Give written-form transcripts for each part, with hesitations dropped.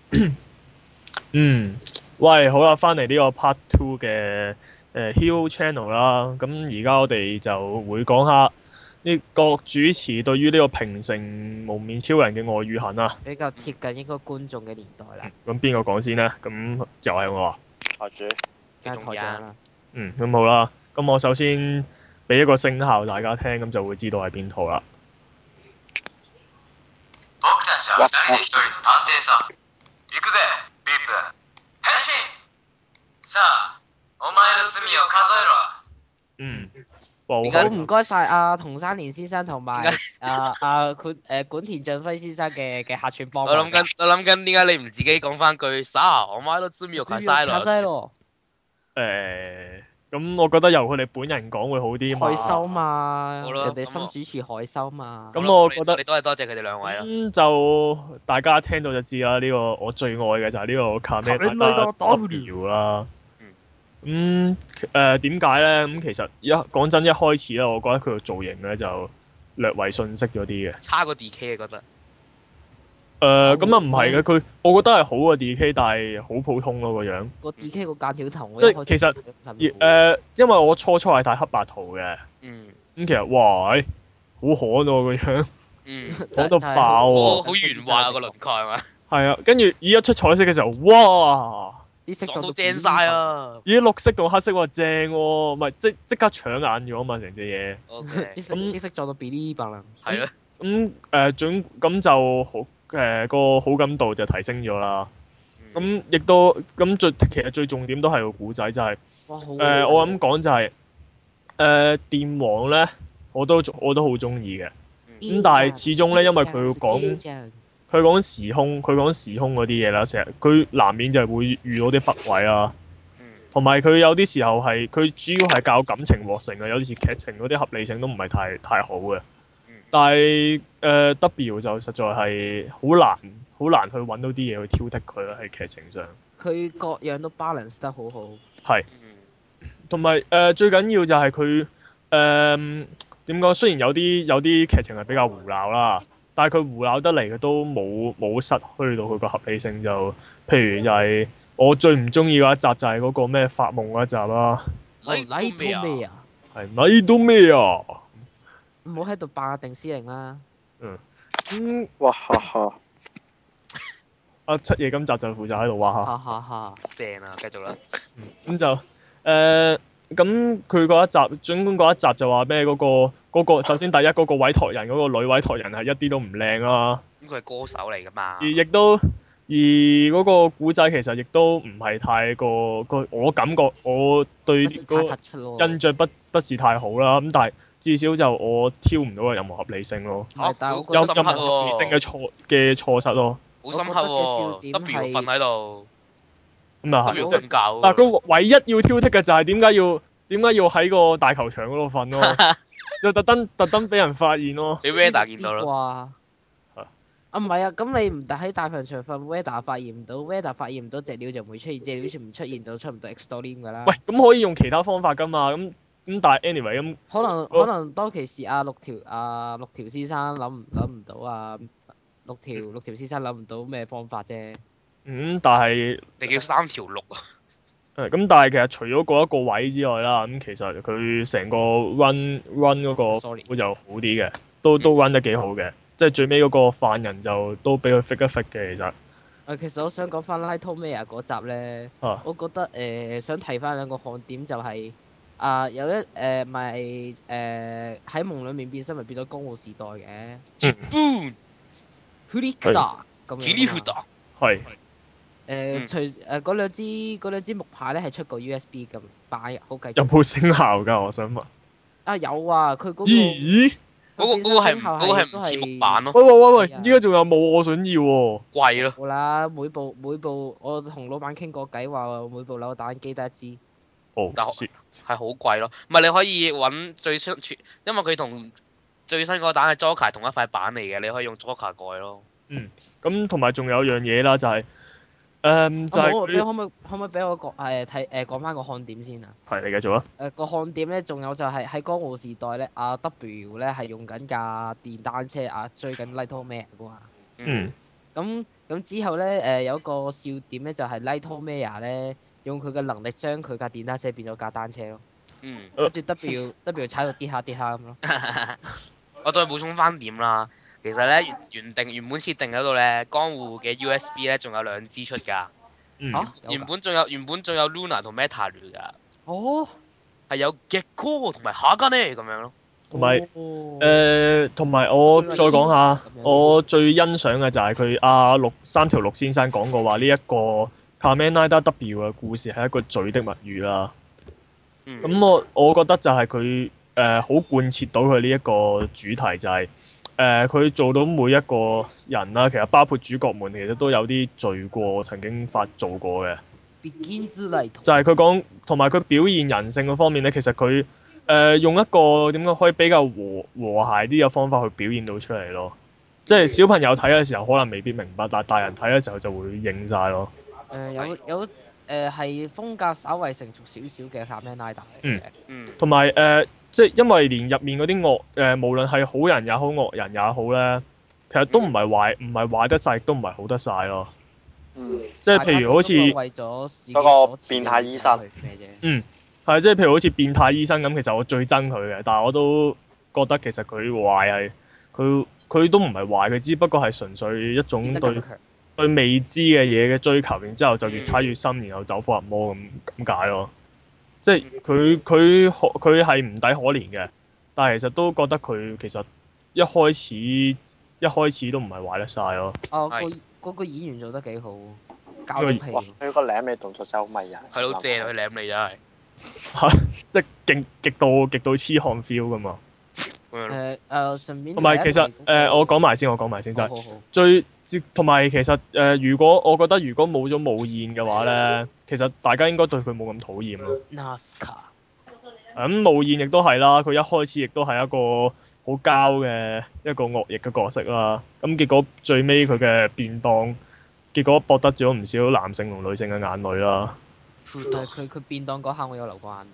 嗯，喂，好啦，翻嚟呢個 Part Two 嘅Hero Channel 啦。咁而家我哋就會講下呢個主持對於呢個平成無面超人嘅愛與恨啊。 比較貼近應該觀眾嘅年代啦， 咁邊個講先呢？咁就係我啊。 下主梗係台長啦。 咁好啦。咁我首先俾一個聲效大家聽，咁就會知道係邊套啦。 僕たちは二人で一人の探偵さん。行くぜ、ビップ。変身。さあ、お前の罪を數えろ。 嗯，哇，好好開心唔該晒阿桐山年先生同埋管田俊輝先生嘅客串幫忙。 我諗緊點解你唔自己講翻句撒我買到知秒卡晒卡西咯？ 咯， 咁我覺得由佢哋本人講會好啲嘛。 海修嘛， 好啦人哋新主持海修嘛。 咁我覺得你都係多謝佢哋兩位啦。 就大家聽到就知啦。呢個我最愛嘅就係呢個卡咩達 W 啦。點解咧？咁其實講真，一開始咧，我覺得佢個造型咧就略為遜色咗啲嘅。 差過 D.K. 啊，覺得。 咁啊唔係嘅，我覺得係好過 D.K，但係好普通咯個樣。 個 D.K 個間條頭， 即係其實因為我初係睇黑白圖嘅。 嗯。 咁其實哇，好寒喎個樣， 嗯。 講到爆喎。 好圓滑啊個輪廓係嘛？ 係啊，跟住一出彩色嘅時候，哇！ 啲色撞到正晒啊！ 咦，綠色同黑色話正喎，唔係即刻搶眼咗啊嘛，成隻嘢。 OK。 啲色撞到 Billy 白啦。 係咯。 咁就好個好感度就提升咗啦。咁亦都其實最重點都係個古仔，就係我咁講就係電王咧，我都好中意嘅。咁但係始終咧，因為佢講時空嗰啲嘢啦，成日佢難免就係會遇到啲北位啦。同埋佢有啲時候係佢主要係教感情獲勝嘅，有時劇情嗰啲合理性都唔係太好嘅。但係W 就實在係好難去揾到啲嘢去挑剔佢啦，喺劇情上。 佢各樣都 balance 得好好。 係。同埋最緊要就係佢點講？雖然有啲劇情係比較胡鬧啦，但係佢胡鬧得嚟，佢都冇失去到佢個合理性。就譬如就係我最唔中意嗰一集就係嗰個咩發夢嗰一集啦。 Nightmare 啊？ 係 Nightmare 啊？ 唔好喺度霸定司令啦。 哇哈哈！ 阿七爺今集就負責喺度話哈哈哈！ 正啊，繼續啦。 咁就咁佢嗰一集，總管嗰一集就話咩嗰個首先第一嗰個委託人嗰個女委託人係一啲都唔靚啦。 咁佢係歌手嚟㗎嘛？ 而嗰個古仔其實亦都唔係太過我感覺我對個印象不是太好啦。咁但係至少就我挑唔到有任何合理性咯。 但係有任何合理性嘅錯失咯。 好深刻喎！W 瞓喺度。 咁啊係。 W 瞓覺。 但係佢唯一要挑剔嘅就係點解要喺個大球場嗰度瞓咯？就特登俾人發現咯。 俾 Veda 見到咯。 哇！唔係啊，咁你唔喺大球場瞓 Veda 發現唔到 ，Veda 發現唔到隻鳥就唔會出現，隻鳥唔出現就出唔到 X-Storm 㗎啦。 喂，咁可以用其他方法㗎嘛？咁但係 anyway 咁。 可能當其時六條先生諗唔到啊，六條先生諗唔到咩方法啫。 但係你叫3條6啊？ 咁但係其實除咗嗰一個位之外啦，咁其實佢成個 run 嗰個會就好啲嘅，都 run 得幾好嘅，即係最尾嗰個犯人就都俾佢 fit 一 fit 嘅其實。 其實我想講翻 Nightmare 嗰集咧，我覺得想提翻兩個看點就係有一咪喺夢裡面變身咪變咗江戶時代嘅。 Boom。 Hurikata 咁樣。 Hurikata。 係。 除嗰兩支木牌咧係出過 USB 咁擺好繼續。 有冇聲效㗎？我想問。 有啊，佢嗰個。 咦？ 嗰個係唔似木板咯。 喂！依家仲有冇？我想要喎。 貴咯。 好啦，每部我同老闆傾過偈話每部扭蛋機得一支。 係好貴咯，唔係你可以揾最新，因為佢同最新嗰個蛋係 Joker 同一塊板嚟嘅，你可以用 Joker 改咯。 咁同埋仲有樣嘢啦，就係就係你可唔可以俾我講翻個看點先啊？ 係你繼續啊。 個看點咧，仲有就係喺江戶時代咧，W 咧係用緊架電單車追緊 Nightmare 噶嘛。咁咁之後咧有一個笑點咧，就係 Light Maya 咧用佢嘅能力將佢架電單車變咗架單車咯。跟住 W 踩到跌下咁咯。 我再補充翻點啦，其實咧原本設定嗰度咧，江戶嘅 USB 咧仲有2支出㗎。原本仲有 Luna 同 Meta 㗎。 哦。 係有極高同埋下間呢咁樣咯。 同埋我再講下，我最欣賞嘅就係佢三條陸先生講過話呢一個 Kamen Rider W 嘅故事係一個罪的物語啦。咁我覺得就係佢好貫徹到佢呢一個主題，就係佢做到每一個人啦，其實包括主角們其實都有啲罪過曾經做過嘅。就係佢講同埋佢表現人性嘅方面咧，其實佢用一個點講可以比較和諧啲嘅方法去表現到出嚟咯。即係小朋友睇嘅時候可能未必明白，但係大人睇嘅時候就會認晒咯。 有係風格稍為成熟少少嘅 Kamen Rider 嚟嘅。 同埋即係因為連入面嗰啲無論係好人也好惡人也好咧，其實都唔係壞得晒，亦都唔係好得晒咯。即係譬如好似嗰個變態醫生， 係即係譬如好似變態醫生咁，其實我最憎佢嘅，但係我都覺得其實佢壞係佢都唔係壞，佢只不過係純粹一種對未知嘅嘢嘅追求，然之後就越踩越深，然後走火入魔咁解咯。即係佢係唔抵可憐嘅，但係其實都覺得佢其實一開始都唔係壞得晒咯。 嗰個演員做得幾好，交咗皮。 佢個舐你動作真係好迷人。 係好正，佢舐你真係。 即係極度痴漢 feel 噶嘛。 順便。 同埋其實我講埋先就係同埋其實如果冇咗無燕嘅話咧，其實大家應該對佢冇咁討厭咯。咁無燕亦都係啦，佢一開始亦都係一個好膠嘅一個惡役嘅角色啦。咁結果最尾佢嘅便當，結果博得咗唔少男性同女性嘅眼淚啦。 但係佢便當嗰下我有流過眼。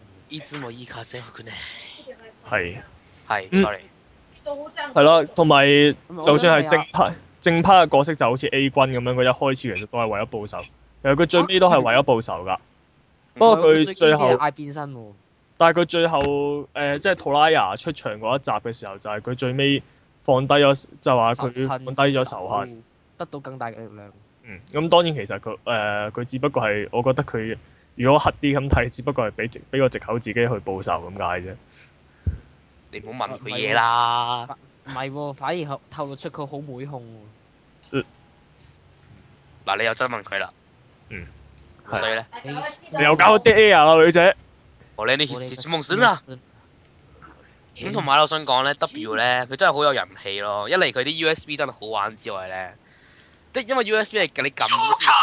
係，sorry。 係咯，同埋就算係正派嘅角色就好似 A 君咁樣，佢一開始其實都係為咗報仇，其實佢最尾都係為咗報仇㗎。不過佢最後嗌變身喎。 但係佢最後即係托拉亞出場嗰一集嘅時候，就係佢最尾放低咗，就話佢放低咗仇恨， 得到更大嘅力量。 咁當然其實佢只不過係，我覺得佢如果黑啲咁睇，只不過係俾個藉口自己去報仇咁解啫。 你唔好問佢嘢啦。 唔係喎，反而透露出佢好妹控喎。 嗱，你又真問佢啦。所以咧， 你又搞啲 air 啦，女仔。 我咧呢件事夢想啦。咁同埋我想講咧 ，W 咧佢真係好有人氣咯。一嚟佢啲 USB 真係好玩之外咧，因為 USB 係你撳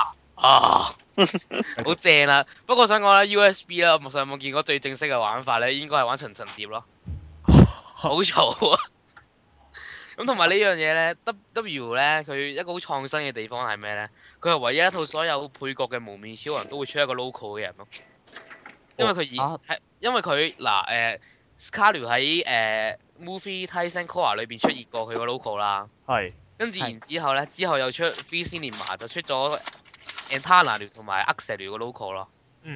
好正啦。不過我想講咧 USB 咧，我上網見過最正式嘅玩法咧，應該係玩層層疊咯。好嘈啊！咁同埋呢樣嘢咧 ，W 咧佢一個好創新嘅地方係咩咧？佢係唯一一套所有配角嘅無面超人都會出一個 local 嘅人咯。因為佢Scarlet 喺Movie Tyson Core 裏邊出現過佢個 local 啦。 係。跟住然之後咧，之後又出 VC 連埋就出咗 Antana 同埋 Axel 個 local 咯。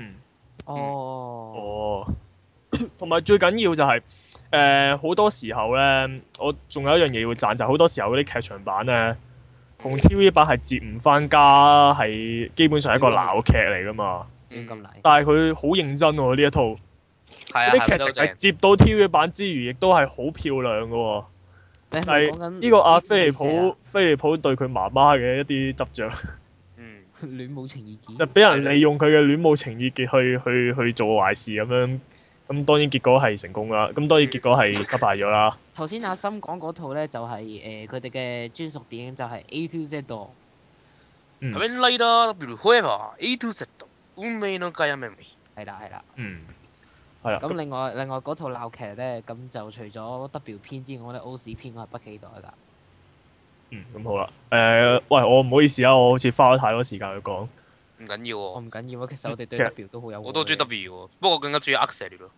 同埋最緊要就係好多時候咧，我仲有一樣嘢要讚，就係好多時候嗰啲劇場版咧，同 TV 版係接唔翻加，係基本上係一個鬧劇嚟噶嘛。但係佢好認真喎呢一套，啲劇情係接到 TV 版之餘，亦都係好漂亮噶喎。係呢個阿菲利普對佢媽媽嘅一啲執著。 戀母情意結。 就俾人利用佢嘅戀母情意結去做壞事咁樣。咁當然結果係成功啦，咁當然結果係失敗咗啦。 頭先阿森講嗰套咧，就係佢哋嘅專屬電影，就係 A to Z 度。 Kamen Rider Forever A to Z 運命の解明。 係啦。 係啦。 咁另外嗰套鬧劇咧，咁就除咗 W 篇之外咧，O 史篇我係不期待㗎。 咁好啦。喂，我唔好意思啊，我好似花咗太多時間去講。 唔緊要喎， 我唔緊要啊，其實我哋對 W 都好有。 我都中意 W 喎，不過我更加中意 Axel 咯。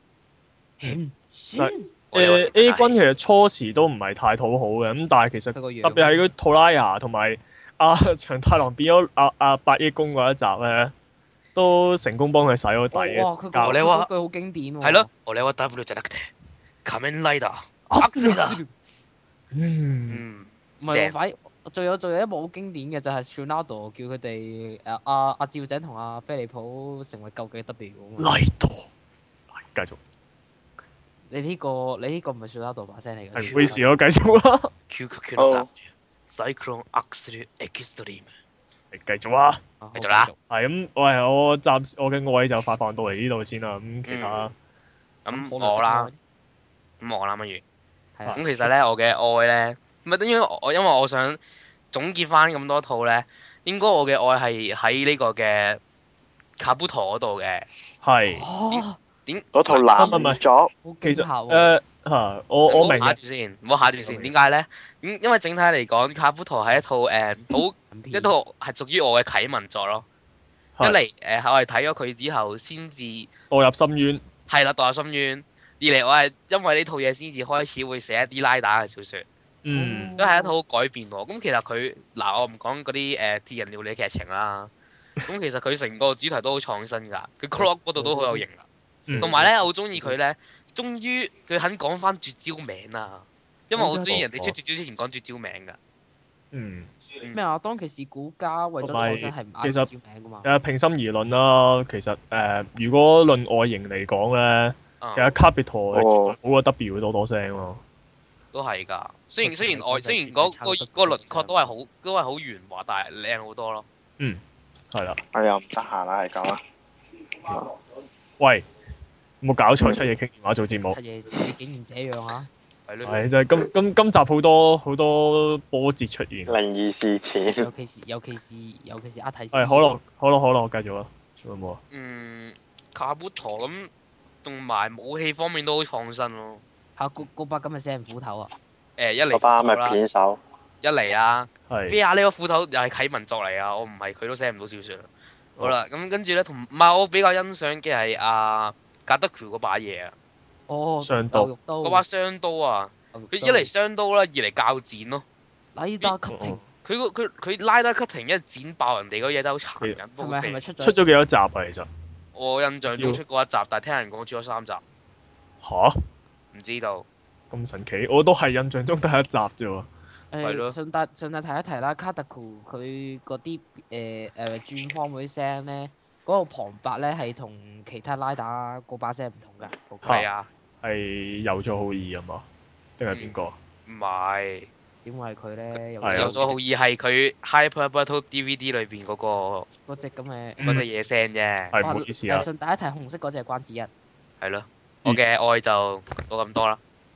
A 君其實初時都唔係太討好嘅，咁但係其實特別係嗰套拉雅同埋長太郎變咗八億公嗰一集咧，都成功幫佢洗咗底嘅。 哇！佢嗰句好經典喎。 係咯，我哋話 W 就得嘅，仮面ライダー。 唔係喎，反而仲有一幕好經典嘅就係 Tsunado 叫佢哋阿趙井同阿飛利浦成為究極 W 啊嘛。 拉多，繼續。 你呢個唔係 Tsunado 把聲嚟嘅。 係唔好意思咯，繼續啦。 究極の W。Cyclone Axle Extreme。 繼續啊！ 繼續啦。 係咁，我暫時我嘅愛就發放到嚟呢度先啦。咁其他咁我啦，不如係啊。 咁其實咧，我嘅愛咧，唔係等於因為我想總結翻咁多套咧，應該我嘅愛係喺呢個嘅卡布陀嗰度嘅。 係嗰套男作， 好其實我我明下段先，唔好下段先。點解咧？因為整體嚟講，卡布陀係一套一套係屬於我嘅啟蒙作咯。一嚟我係睇咗佢之後先至墮入深淵。 係啦，墮入深淵。二嚟我係因為呢套嘢先至開始會寫一啲拉打嘅小説。都係一套好改變喎。咁其實佢我唔講嗰啲鐵人料理劇情啦。咁其實佢成個主題都好創新㗎。佢 clock 嗰度都好有型㗎。同埋咧，我好中意佢咧，終於佢肯講翻絕招名啊！因為我好中意人哋出絕招之前講絕招名㗎。 咩啊？當其時古家為咗創新係唔啱絕招名㗎嘛？ 平心而論啦，其實如果論外形嚟講咧，其實卡比陀好過 W 多聲咯。 都係㗎。雖然嗰個輪廓都係好圓滑，但係靚好多咯。 係啦。 我又唔得閒啦，係咁啦。 喂，冇搞錯，七夜傾電話做節目。 七夜，你竟然這樣啊！ 係就係今集好多波折出現。 靈異事件。 尤其是阿提斯。 係可樂，繼續啦。仲有冇啊？ 卡布陀咁，同埋武器方面都好創新咯。 嗰把咁嘅死人斧頭啊！ 一嚟嗰把咪片手。 一嚟啦。 係。 飛亞呢個斧頭又係啟蒙作嚟啊！我唔係佢都寫唔到小説。好啦，咁跟住咧，唔係我比較欣賞嘅係格德喬嗰把嘢啊。 雙刀。 嗰把雙刀啊！佢一嚟雙刀啦，二嚟鉸剪咯。 拉打 cutting。 佢拉打 cutting 一剪爆人哋嗰嘢真係好殘忍。 係咪出咗幾多集啊？其實我印象中出過一集，但係聽人講出咗3集。 吓？ 唔知道。 咁神奇，我都係印象中得一集啫喎。 係咯。 順帶提一提啦，卡特庫佢嗰啲轉方嗰啲聲咧，嗰個旁白咧係同其他拉打嗰把聲唔同㗎。 係啊。 係有咗好意啊嘛？定係邊個？ 唔係。 點會係佢咧？ 有咗好意係佢 Hyper Battle DVD 裏邊嗰隻咁嘅隻嘢聲啫。 係唔好意思啊。 順帶一提，紅色嗰隻係關子一。 係咯。我嘅愛就到咁多啦。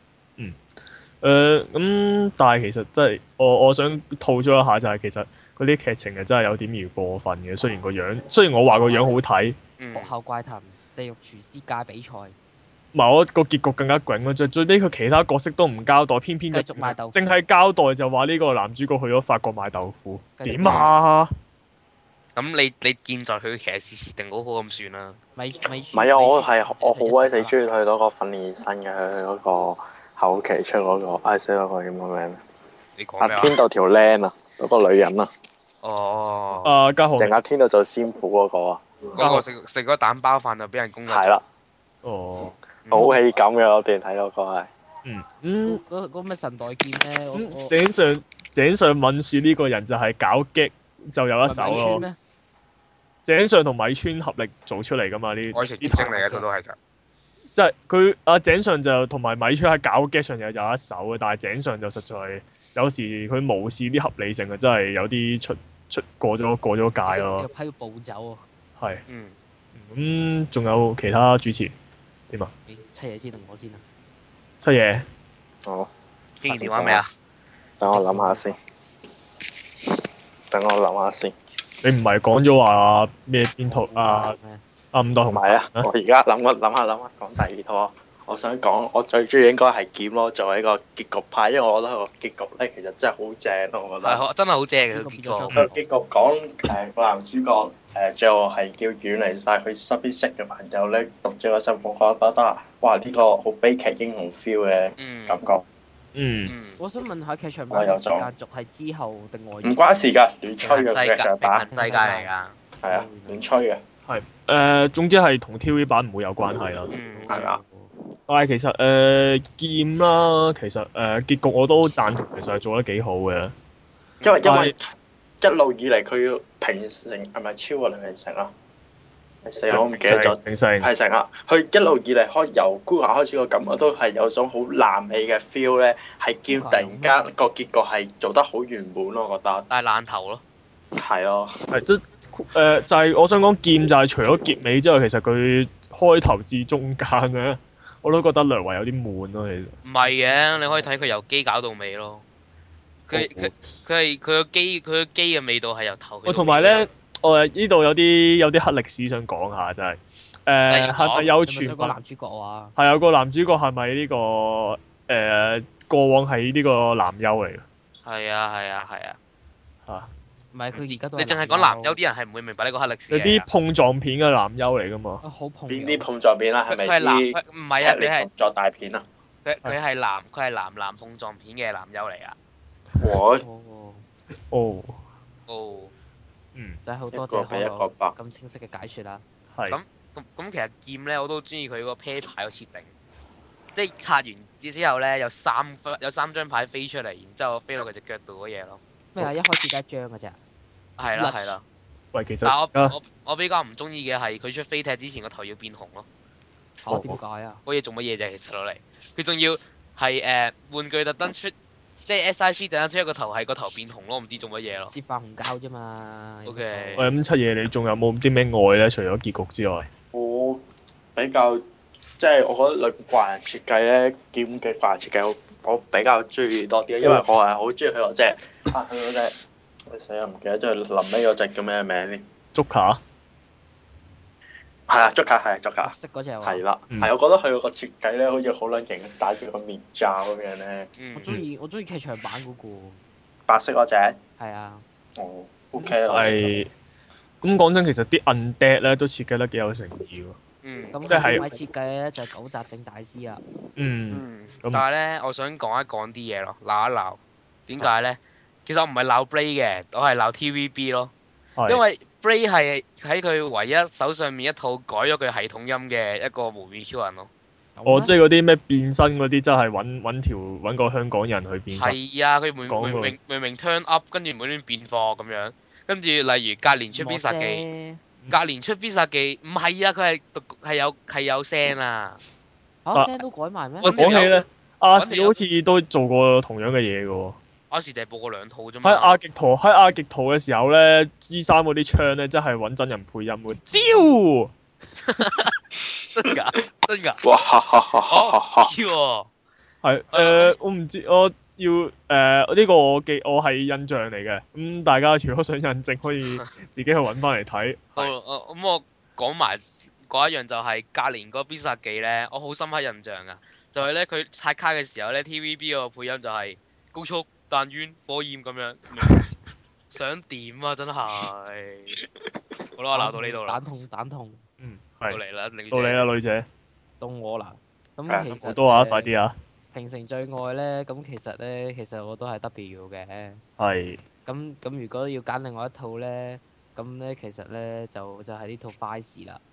咁，但係其實真係我想吐咗一下，就係其實嗰啲劇情係真係有點兒過分嘅。雖然我話個樣好睇。 學校怪談、地獄廚師界比賽。 唔係，我個結局更加囧咯，最尾佢其他角色都唔交代，偏偏就繼續賣豆腐， 淨係交代就話呢個男主角去咗法國買豆腐，點啊？ 咁你見在佢騎士設定好好咁算啦。 唔係啊！我好鬼死中意佢嗰個訓練生嘅，佢嗰個後期出嗰個，I say 嗰個叫乜名？ 你講咩啊？ 天道條靚啊，嗰個女人啊。 哦。 家豪。 定天道做師傅嗰個啊。 嗰個食咗蛋包飯就俾人攻擊。 係啦。 哦。 好氣感嘅嗰段睇到個係。 嗰咩神代劍咧？ 井上敏樹呢個人就係搞激就有一手咯。井上同米村合力做出嚟㗎嘛？呢啲愛情結晶嚟嘅，佢都係就。 即係佢井上就同埋米村喺搞激上有一手嘅，但係井上就實在有時佢無視啲合理性啊，真係有啲出過咗界咯。 批暴走啊！ 係。咁仲有其他主持點啊？ 七爺先定我先啊？ 七爺。 好。 經完電話未啊？ 等我諗下先。 你唔係講咗話咩邊套啊？五代同埋啊！我而家諗下，講第二套。我想講，我最中意應該係劍咯，作為一個結局派，因為我覺得個結局咧其實真係好正咯，我覺得。 係真係好正嘅結局。 個結局講個男主角最後係叫遠離晒佢身邊識嘅朋友咧，讀者個身份，我覺得哇呢個好悲劇英雄 feel 嘅感覺。 我想問下劇場版嘅時間軸係之後定外？ 唔關事㗎，亂吹嘅劇場平衡版。 世界嚟㗎。 係啊，亂吹嘅。 係總之係同 TV 版唔會有關係啦。 係啊。 但係其實劍啦，其實結局我都贊同，其實係做得幾好嘅。 因為一路以嚟佢要平成係咪超過兩平成啊？死我唔記得咗。係成啊！佢一路以嚟由孤牙開始個感覺都係有種好爛尾嘅 feel 咧，係劍突然間個結局係做得好圓滿咯，我覺得。 但係爛頭咯。 係咯。 就係我想講劍就係除咗結尾之外，其實佢開頭至中間咧，我都覺得略為有啲悶咯，其實。 唔係嘅，你可以睇佢由機搞到尾咯。佢個機嘅味道係由頭。 同埋咧，我呢度有啲黑歷史想講下，就係係咪有傳聞？ 男主角啊？ 係有個男主角係咪呢個過往係呢個男優嚟嘅？ 係啊。 嚇！ 唔係佢而家都。 你淨係講男優，啲人係唔會明白呢個黑歷史。 有啲碰撞片嘅男優嚟㗎嘛？ 好碰。 邊啲碰撞片啊？係咪啲？ 唔係啊，佢係碰撞大片啊！ 佢係男碰撞片嘅男優嚟啊！ 哦。 真係好多謝可樂咁清晰嘅解説啦。 係。 咁其實劍咧，我都中意佢個啤牌個設定，即係拆完之後咧，有三張牌飛出嚟，然之後飛落佢隻腳度嗰嘢咯。 咩啊？一開始得一張㗎咋？ 係啦。 喂，其實。 但我比較唔中意嘅係佢出飛踢之前個頭要變紅咯。 嚇？點解啊？ 嗰嘢做乜嘢啫？其實攞嚟，佢仲要係玩具特登出。即係 SIC 突然間出一個頭係個頭變紅咯，唔知做乜嘢咯。 接化紅膠啫嘛。 OK。 喂，咁七爺你仲有冇啲咩愛咧？除咗結局之外。 我比較即係我覺得裏邊怪人設計咧，劍嘅怪人設計我比較中意多啲，因為我係好中意佢嗰隻死啊！唔記得咗佢臨尾嗰隻叫咩名先？ 竹卡。 係啊，竹卡係竹卡。 識嗰隻喎。 係啦，係我覺得佢個設計咧，好似好撚型，戴住個面罩咁樣咧。 我中意劇場版嗰個。 白色嗰隻。係啊。 哦，OK 啦。 係。咁講真，其實啲 undead 咧都設計得幾有誠意喎。 咁即係。 位設計咧就係九澤正大師啊。 但係咧，我想講啲嘢咯，鬧一鬧。點解咧？其實我唔係鬧 Bray 嘅，我係鬧 TVB 咯。因為 Bray 係喺佢唯一手上面一套改咗佢系統音嘅一個無面超人咯。 即係嗰啲咩變身嗰啲，真係揾個香港人去變身。 係啊，佢明明 turn up，跟住無端端變貨咁樣，跟住例如隔年出必殺技，唔係啊，佢係有聲啊。 聲都改埋咩？ 我講起咧，亞視好似都做過同樣嘅嘢嘅喎。 亞視就係播過2套啫嘛。 喺亞極圖嘅時候咧，G3嗰啲槍咧，真係揾真人配音嘅。招！ 真㗎？ 哇！ 知喎。 係我唔知，我要呢個我係印象嚟嘅。咁大家如果想印證，可以自己去揾翻嚟睇。 咁我講埋嗰一樣就係隔年嗰必殺技咧，我好深刻印象㗎。就係咧，佢刷卡嘅時候咧 ，TVB 個配音就係高速彈丸火焰咁樣，想點啊？真係。好啦，我鬧到呢度啦。 蛋痛。 到你啦， 女姐。 到我啦。咁其實好多啊！快啲啊！ 平成最愛咧，咁其實我都係 W 嘅。 係。 咁如果要揀另外一套咧，咁咧其實咧就係呢套 Vice 啦。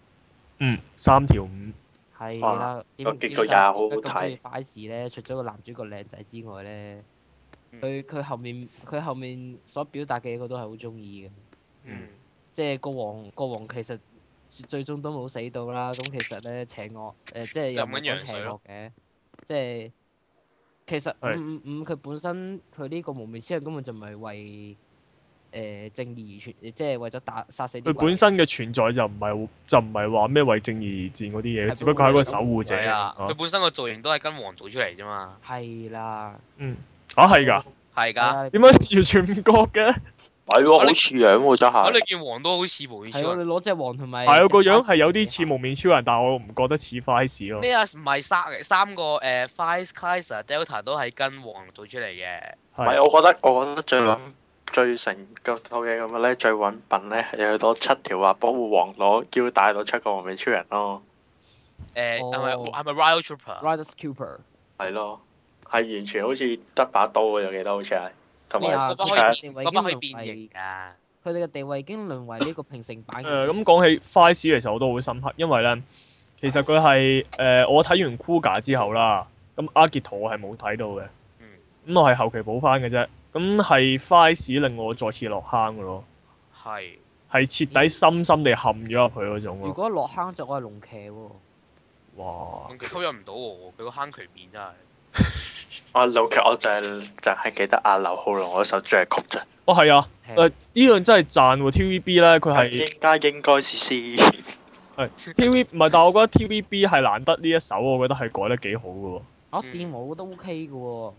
3條5。 係啦。 個結局又係好好睇。 Vice 咧，除咗個男主角靚仔之外咧，佢後面所表達嘅嘢，我都係好中意嘅。即係國王其實最終都冇死到啦。咁其實咧邪惡即係又唔講邪惡嘅，即係其實佢本身佢呢個無面超人根本就唔係為正義而存，即係為咗殺死啲。佢本身嘅存在就唔係話咩為正義而戰嗰啲嘢，只不過係一個守護者。 佢本身個造型都係跟王做出嚟啫嘛。 係啦。 係㗎。 係㗎。 點解完全唔覺嘅？ 係喎，好似樣喎，真係。 你見王都好似無面超人。 係你攞隻王同埋。 係個樣係有啲似無面超人，但係我唔覺得似 Vice 咯。 呢個唔係三個Vice Kaiser Delta 都係跟王做出嚟嘅。 唔係，我覺得最成套嘢咁嘅咧，最揾笨咧有多7條話保護王攞腰帶到7個無面超人咯。 係咪 Riot Trooper？ Riot Trooper。 係咯。 係完全好似得把刀嘅，我記得好似係，同埋啊嗰把可以變形㗎。 佢哋嘅地位已經淪為呢個平成版。 咁講起 Vice 其實我都好深刻，因為咧其實佢係我睇完 Kuga 之後啦，咁阿傑圖我係冇睇到嘅，咁我係後期補翻嘅啫。咁係 Vice 令我再次落坑嘅咯，係徹底深深地陷咗入去嗰種咯。 如果落坑就我係龍騎喎。 哇！ 龍騎吸引唔到我，佢個坑渠面真係。 龍騎我就係記得阿劉浩龍嗰首主題曲啫。 哦，係啊，呢樣真係讚喎 TVB 咧，佢係應該是先。 係 TV 唔係，但係我覺得 TVB 係難得呢一首，我覺得係改得幾好嘅喎。 電舞都 OK 嘅喎。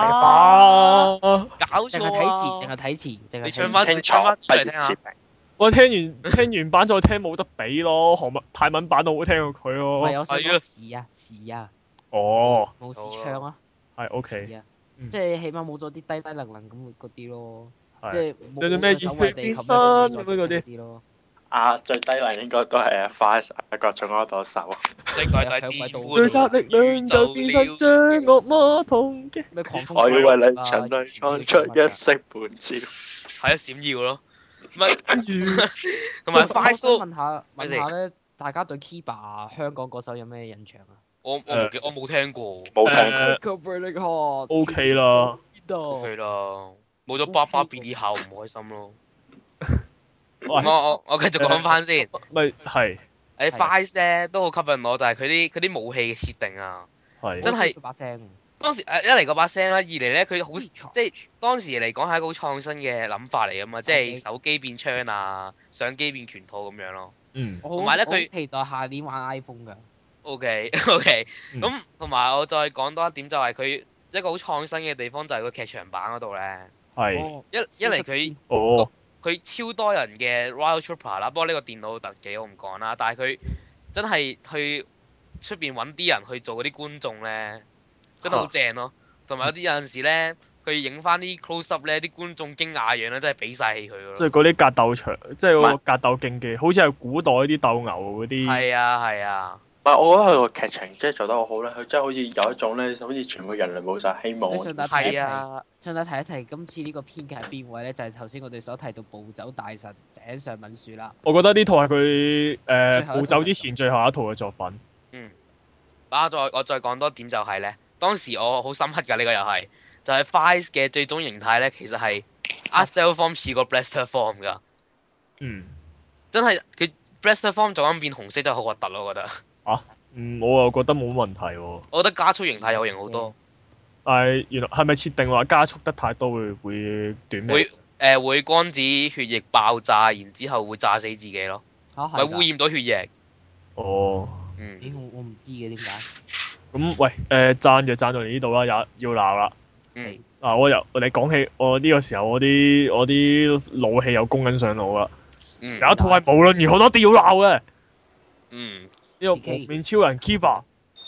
搞錯淨係睇詞， 你唱翻清楚出嚟聽下。 我聽完版再聽冇得比咯，泰文版都好聽過佢咯。 係有首詞啊。 哦。 冇時唱啊。 係 OK。 即係起碼冇咗啲低低能能咁嗰啲咯。即係冇咩熱血變身咁嗰啲咯。 最低能應該都係Vice 各種嗰度手。 最集力量就變身將惡魔痛擊。 我要為你陳淚創出一色半照。 係啊，閃耀咯。唔係跟住，同埋 Vice 都問下咧，大家對 Kiba 香港嗰首有咩印象啊？ 我冇聽過。 冇聽過。 OK 啦。 OK 啦，冇咗爸爸 Billy 後唔開心咯。 我繼續講翻先。 咪係。 Vice 咧都好吸引我，就係佢啲武器嘅設定啊，真係把聲。當時一嚟嗰把聲啦，二嚟咧佢好即係當時嚟講係一個好創新嘅諗法嚟噶嘛，即係手機變槍啊，相機變拳套咁樣咯。同埋咧佢期待下年玩 iPhone 㗎。 OK，咁同埋我再講多一點就係佢一個好創新嘅地方就係個劇場版嗰度咧。 係。 一嚟佢超多人嘅 Royal Trooper 啦，不過呢個電腦特技我唔講啦，但係佢真係去出邊揾啲人去做嗰啲觀眾咧，真係好正咯。同埋有陣時咧，佢影翻啲 close up 咧，啲觀眾驚訝樣咧，真係俾晒氣佢咯。 即係嗰啲格鬥場，即係嗰個格鬥競技，好似係古代啲鬥牛嗰啲。 係啊。 唔係，我覺得佢個劇情即係做得好好咧，佢真係好似有一種咧，好似全部人類冇晒希望。 順帶提一提，今次呢個編劇係邊位咧？就係頭先我哋所提到暴走大神井上敏樹啦。 我覺得呢套係佢暴走之前最後一套嘅作品。 我再講多點就係咧，當時我好深刻㗎，呢個又係就係 Vice 嘅最終形態咧，其實係 Accel Form 似個 Blaster Form 㗎。真係佢 Blaster Form 做緊變紅色真係好核突咯，我覺得。 我又覺得冇問題喎。 我覺得加速形態有型好多。 但係原來係咪設定話加速得太多會短命？ 會光子血液爆炸，然之後會炸死自己咯。咪污染到血液。 哦。 我唔知嘅點解。 咁喂，讚就讚到嚟呢度啦，要鬧啦。你講起我呢個時候，我啲怒氣又攻緊上腦啦。有一套係無論如何都一定要鬧嘅。呢個幪面超人 Kiba。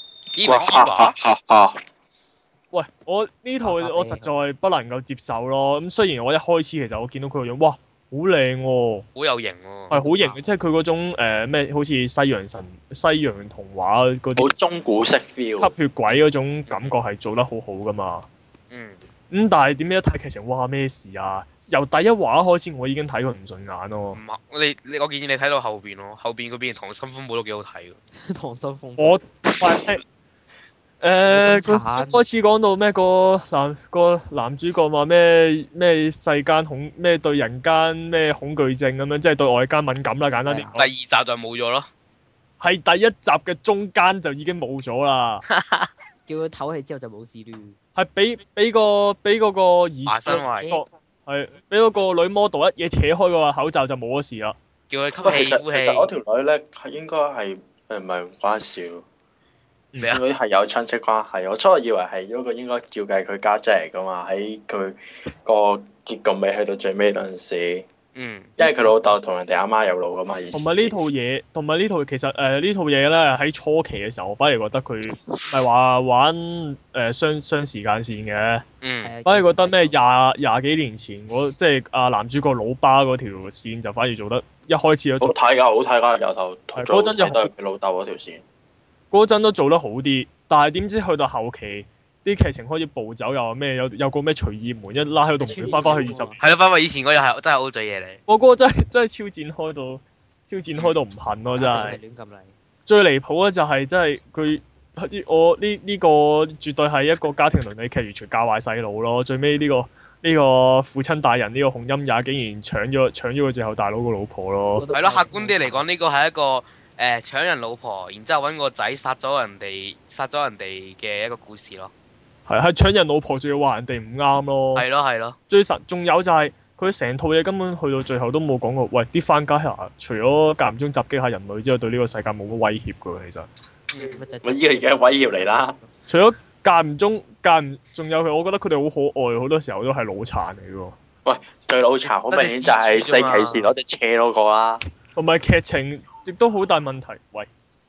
喂，我呢套我實在不能夠接受咯。咁雖然我一開始其實我見到佢個樣，哇，好靚喎， 好有型喎， 係好型嘅，即係佢嗰種咩，好似西洋童話嗰啲， 好中古式 feel， 吸血鬼嗰種感覺係做得好好噶嘛。咁但係點解一睇劇情，哇咩事啊？由第一話開始我已經睇佢唔順眼咯。 我建議你睇到後邊咯，後邊嗰邊溏心風暴都幾好睇㗎。 溏心風暴。 我佢開始講到咩個男主角話咩世間咩對人間咩恐懼症咁樣，即係對外間敏感啦，簡單啲。 第二集就冇咗咯。 係第一集嘅中間就已經冇咗啦。 叫佢唞氣之後就冇事啦。 係俾嗰個兒孫係俾嗰個女 model 一嘢扯開個口罩就冇咗事啦。 叫佢吸氣呼氣。 其實嗰條女咧係應該係唔係唔關事。佢係有親戚關係，我初以為係嗰個應該照計佢家姐嚟噶嘛，喺佢個結局未去到最尾嗰陣時。因為佢老豆同人哋阿媽有路噶嘛。 同埋呢套其實呢套嘢咧喺初期嘅時候，我反而覺得佢係話玩雙時間線嘅。反而覺得咩廿幾年前即係男主角老爸嗰條線就反而做得一開始好睇㗎，由頭到尾都係佢老豆嗰條線。 嗰陣都做得好啲，但係點知去到後期啲劇情開始暴走，又話咩有個咩隨意門一拉喺度門翻返去20年。 係咯，翻返以前嗰又係真係 O 嘴嘢嚟。 我嗰個真係超展開到唔恨咯，真係。 亂咁嚟。最離譜咧就係真係佢我呢個絕對係一個家庭倫理劇，完全教壞細路咯。最尾呢個父親大人呢個洪陰也竟然搶咗佢最後大佬個老婆咯。 係咯，客觀啲嚟講，呢個係一個搶人老婆，然之後揾個仔殺咗人哋嘅一個故事咯。 係搶人老婆，仲要話人哋唔啱咯。 係咯。最神仲有就係佢成套嘢根本去到最後都冇講過，喂啲番家除咗間唔中襲擊下人類之外，對呢個世界冇乜威脅㗎喎，其實。 咪依個而家威脅嚟啦。 除咗間唔中仲有佢，我覺得佢哋好可愛，好多時候都係腦殘嚟嘅喎。 喂，最腦殘好明顯就係四騎士攞隻車嗰個啦。 同埋劇情亦都好大問題。喂，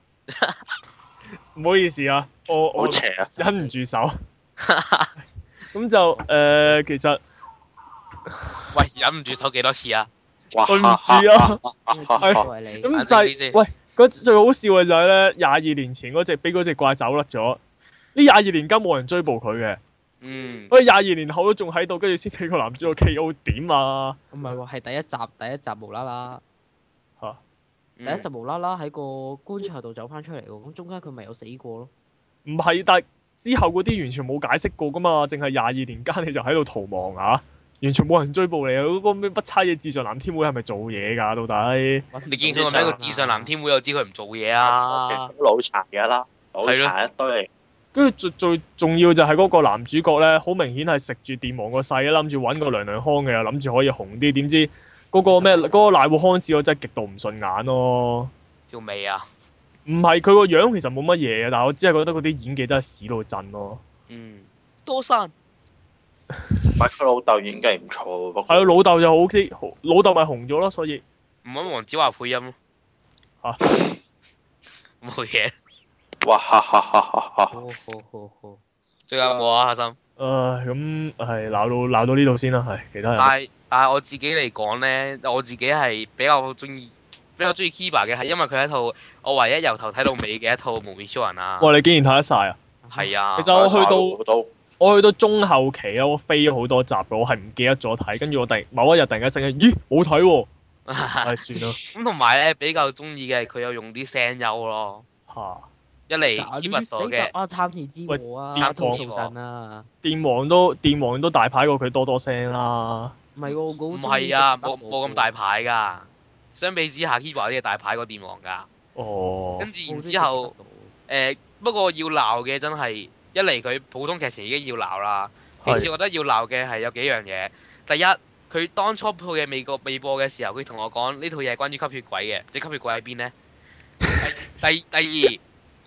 唔好意思啊，我好邪啊， 忍唔住手。咁就其實， 喂，忍唔住手幾多次啊？ 對唔住啊，咁就係喂，最好笑嘅就係咧，22年前俾嗰隻怪走甩咗，呢22年間冇人追捕佢嘅。喂，22年後都仲喺度，跟住先俾個男主角 K.O. 點啊？ 唔係喎，係第一集無啦啦。 嚇！ 第一集無啦啦喺個棺材度走翻出嚟喎，咁中間佢咪有死過咯？ 唔係，但係之後嗰啲完全冇解釋過噶嘛，淨係22年間你就喺度逃亡啊！完全冇人追捕你啊！嗰個咩不差嘅智障藍天會係咪做嘢㗎？到底？ 你見佢係咪一個智障藍天會，又知佢唔做嘢啊？ 腦殘㗎啦，腦殘一堆。 跟住最重要就係嗰個男主角咧，好明顯係食住電王個勢，諗住揾個娘娘腔嘅，又諗住可以紅啲，點知嗰個瀨戶康士我真係極度唔順眼咯。 條尾啊？ 唔係佢個樣其實冇乜嘢嘅，但係我只係覺得嗰啲演技真係屎到震咯。 多山。 唔係佢老豆演技唔錯喎。 係啊，老豆就 OK，老豆咪紅咗咯，所以唔揾黃子華配音咯。 嚇？ 冇嘢。 哇哈哈哈哈！ 好。 最後有冇啊，阿心？ 咁係鬧到呢度先啦，係其他人。 但係我自己嚟講咧，我自己係比較中意 Kiba 嘅，係因為佢係一套我唯一由頭睇到尾嘅一套幪面超人啊！ 哇！你竟然睇得晒啊？ 係啊！ 其實我去到中後期啊，我飛咗好多集嘅，我係唔記得咗睇，跟住我某一日突然間醒起，咦冇睇喎！算啦。 咁同埋咧比較中意嘅係佢有用啲聲優咯。 嚇！ 一嚟 Kiba 嘅參與之王啊，電神啊， 電王都大牌過佢多聲啦。 唔係喎， 唔係啊，冇咁大牌㗎。相比之下 Kiba 啲係大牌過電王㗎。 哦。 跟住然之後，不過要鬧嘅真係一嚟佢普通劇情已經要鬧啦。其次我覺得要鬧嘅係有幾樣嘢。第一，佢當初套嘢未播嘅時候，佢同我講呢套嘢係關於吸血鬼嘅，即係吸血鬼喺邊呢？第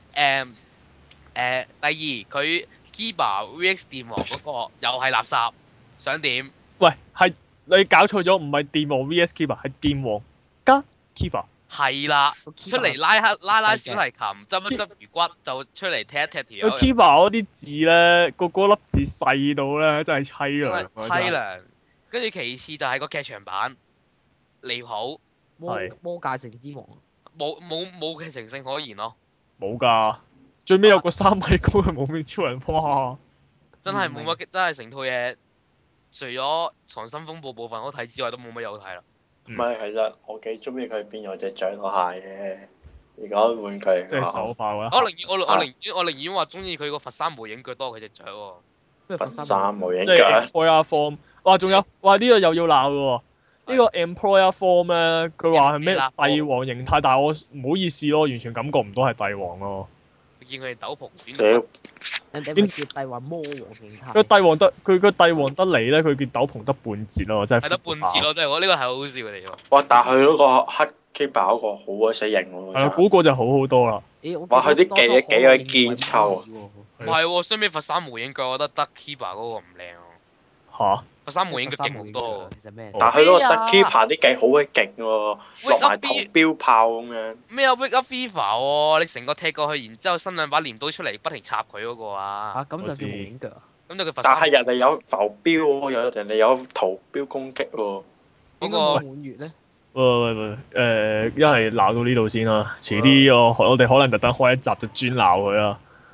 二，佢 Kiba VX 電王嗰個又係垃圾，想點？ 喂，係你搞錯咗，唔係電王 VS Kiba，係電王加 Kiba。 係啦，出嚟拉小提琴，執一執魚骨就出嚟踢一踢條友。 Kiba 嗰啲字咧，個粒字細到咧，真係凄涼。 凄涼。跟住其次就係個劇場版離譜。 魔界城之王。 冇劇情性可言咯。 冇㗎。最尾有個3米高嘅幪面超人，哇！ 真係冇乜，真係成套嘢，除咗溏心風暴部分好睇之外，都冇乜有睇啦。 唔係，其實我幾中意佢變咗隻掌蟹嘅。而家玩具即係手化啦。 我寧願話中意佢個佛山無影腳多佢隻掌喎。 佛山無影腳。 即係 Employer Form。哇！仲有哇！呢個又要鬧嘅喎。呢個 Employer Form 咧，佢話係咩帝王形態，但係我唔好意思咯，完全感覺唔到係帝王咯。 見佢哋斗篷人哋咪叫帝王魔王形態。 佢帝王得嚟咧，佢件斗篷得半截咯，真係。 係得半截咯，真係我呢個係好好笑嘅地方。 哇！但係佢嗰個黑 Kiba 嗰個好鬼死型喎。 係啊，嗰個就好好多啦。 哇！佢啲幾鬼堅臭。 唔係喎，相比佛山無影腳，我覺得得 Kiba 嗰個唔靚喎。 嚇！ 佛山無影腳勁好多。 其實咩？ 但係佢嗰個得 Kiba 啲技好鬼勁喎，落埋銅標炮咁樣。 咩啊 Wake Up Fever 喎！你成個踢過去，然之後伸兩把鐮刀出嚟，不停插佢嗰個啊！ 嚇咁就叫無影腳啊！ 咁就佢佛山。 但係人哋有浮標喎，人哋有圖標攻擊喎。 嗰個滿月咧？ 喂，一係鬧到呢度先啦，遲啲我哋可能特登開一集就專鬧佢啦。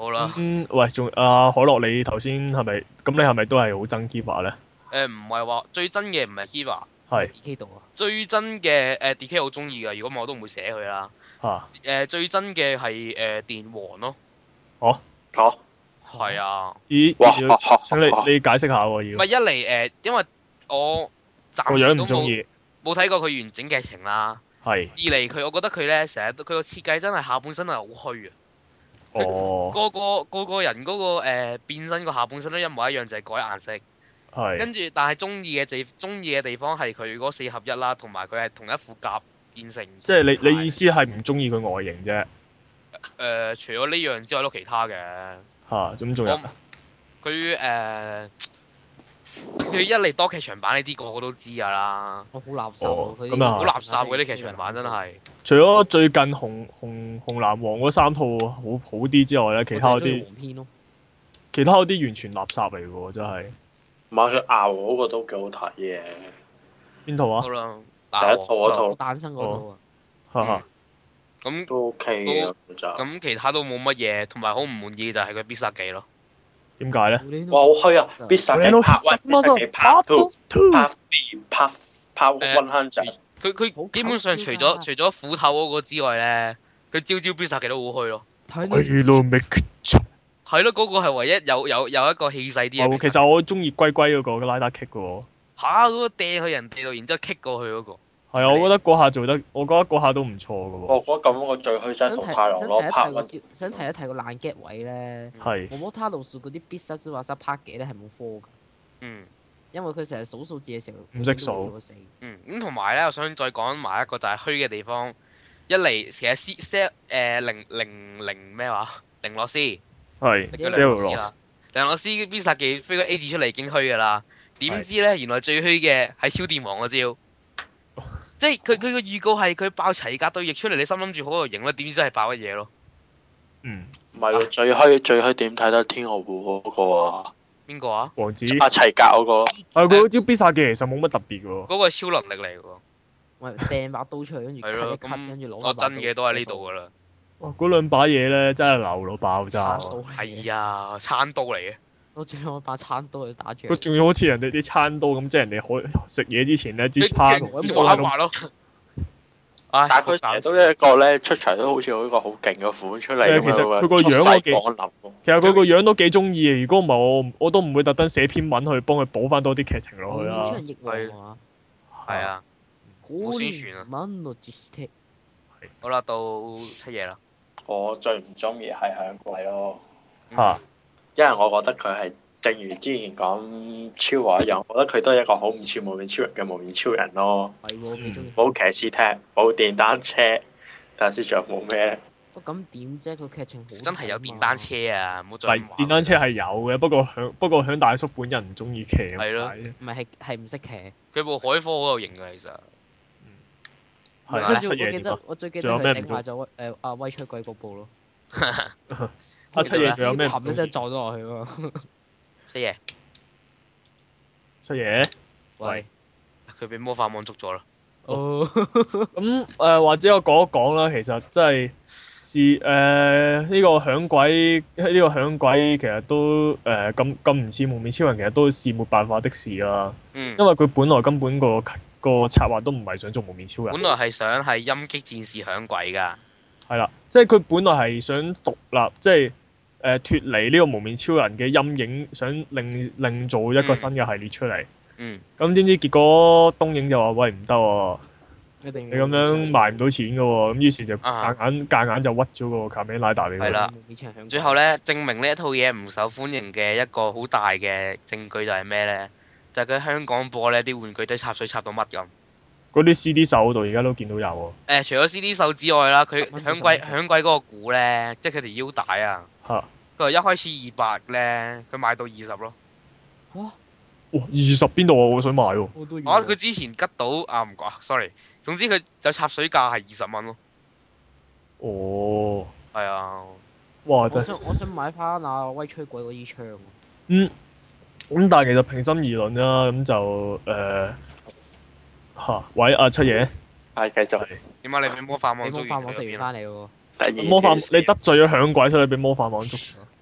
好啦。 喂，仲可樂，你頭先係咪咁？你係咪都係好憎 Kiva 咧？ 唔係話最憎嘅唔係 Kiva， 係 D.K 度啊。最憎嘅D.K 好中意㗎，如果唔係我都唔會寫佢啦。最憎嘅係電王咯。 嚇？ 係啊。 咦？請你解釋下喎要。 唔係一嚟因為我暫時都冇睇過佢完整劇情啦。 係。 二嚟我覺得佢咧成日佢個設計真係下半身係好虛啊。個個人嗰個變身個下半身都一模一樣，就係改顏色。 係。 跟住，但係中意嘅地方係佢嗰4合一啦，同埋佢係同一副甲變成。即係你意思係唔中意佢外形啫？ 除咗呢樣之外，都其他嘅。 咁仲有？ 佢一嚟多劇場版呢啲個個都知㗎啦。 好垃圾佢咁啊！ 好垃圾嗰啲劇場版真係。 除咗最近紅藍黃嗰3套好啲之外咧，其他嗰啲完全垃圾嚟嘅喎，真係。 唔係佢熬嗰個都幾好睇嘅。 邊套啊？ 第一套嗰套。 誕生嗰套啊。 咁都 OK 嘅咁其他都冇乜嘢，同埋好唔滿意就係佢必殺技咯。 點解咧？ 哇！好虛啊！必殺技拍 2、拍 100。 佢基本上除咗斧頭嗰個之外咧，佢招必殺技都好虛咯。係咯，嗰個係唯一有一個氣勢啲嘅。 其實我中意龜嗰個拉打 kick 嘅喎。 嗰個掟去人哋度，然之後 kick 過去嗰個。 係啊，我覺得嗰下嗰下都唔錯嘅喎。 我覺得咁我最虛真同太郎咯， 想提一提個爛 get 位咧。 係。 摩他路數嗰啲必殺之話塞拍幾咧係冇科㗎。因為佢成日數數字嘅時候唔識數。 咁同埋咧，我想再講埋一個就係虛嘅地方。一嚟其實零咩話零洛斯係零洛斯必殺技飛個 A 字出嚟已經虛㗎啦。點知咧原來最虛嘅係超電王嗰招。即係佢個預告係佢爆齊格對翼出嚟，你心諗住好有型啦，點知真係爆乜嘢咯？ 唔係喎，最虛點睇得天鵝湖嗰個啊？ 邊個啊？ 王子。 齊格嗰個。 佢嗰招必殺技其實冇乜特別嘅喎。 嗰個係超能力嚟嘅喎。 喂，掟把刀出去，跟住 cut 一 cut，跟住攞。 我真嘅都喺呢度㗎啦。 哇！嗰兩把嘢咧真係流到爆炸。 係啊，餐刀嚟嘅。 我仲用把餐刀去打住。 佢仲要好似人哋啲餐刀咁，即係人哋可食嘢之前咧支餐滑咯。 但係佢成日都一個咧出場都好似有一個好勁嘅款出嚟咁樣。 其實佢個樣都幾，其實佢個樣都幾中意嘅。如果唔係我都唔會特登寫篇文去幫佢補翻多啲劇情落去啦。 係啊。好宣傳啊！好啦，到七夜啦。 我最唔中意係響鬼咯。 因為我覺得佢係正如之前講超話一樣，我覺得佢都係一個好唔似無面超人嘅無面超人咯。冇騎士踢，冇電單車，但係仲有冇咩咧？ 咁點啫？個劇情好真係有電單車啊！唔好再。 電單車係有嘅，不過響大叔本人唔中意騎。 係咯。 唔係唔識騎。 佢部海科好有型㗎，其實。 我最記得佢整壞咗阿威出鬼嗰部咯。 七爺仲有咩？ 冚一聲撞咗落去喎。 七爺。 喂。佢俾魔法網捉咗啦。 咁或者我講一講啦，其實真係呢個響鬼其實都咁唔似無面超人，其實都是沒辦法的事啦。因為佢本來根本個策劃都唔係想做無面超人。 本來係想係陰擊戰士響鬼㗎。係啦，即係佢本來係想獨立，即係脫離呢個無面超人嘅陰影，想另做一個新嘅系列出嚟。咁點知結果東映就話：喂，唔得喎，你咁樣賣唔到錢㗎喎。咁於是就夾硬就屈咗個卡梅拉達俾佢。 係啦。最後咧，證明呢一套嘢唔受歡迎嘅一個好大嘅證據就係咩咧？就係佢喺香港播呢啲玩具都插水插到乜咁。嗰啲 CD 手嗰度而家都見到有喎。 除咗 CD 手之外啦，佢響鬼嗰個鼓咧，即係佢條腰帶啊。佢話一開始200咧，佢賣到20咯。 哇！20邊度啊？我想買喎。 佢之前吉到唔講，sorry。總之佢就插水價係20蚊咯。 哦。 係啊。 哇！ 我想買翻阿威吹鬼嗰支槍。 咁但係其實平心而論啦，咁就喂阿七爺。 係繼續。 點解你俾魔法網捉完？ 魔法網食完翻嚟喎。 魔法你得罪咗響鬼，所以你俾魔法網捉。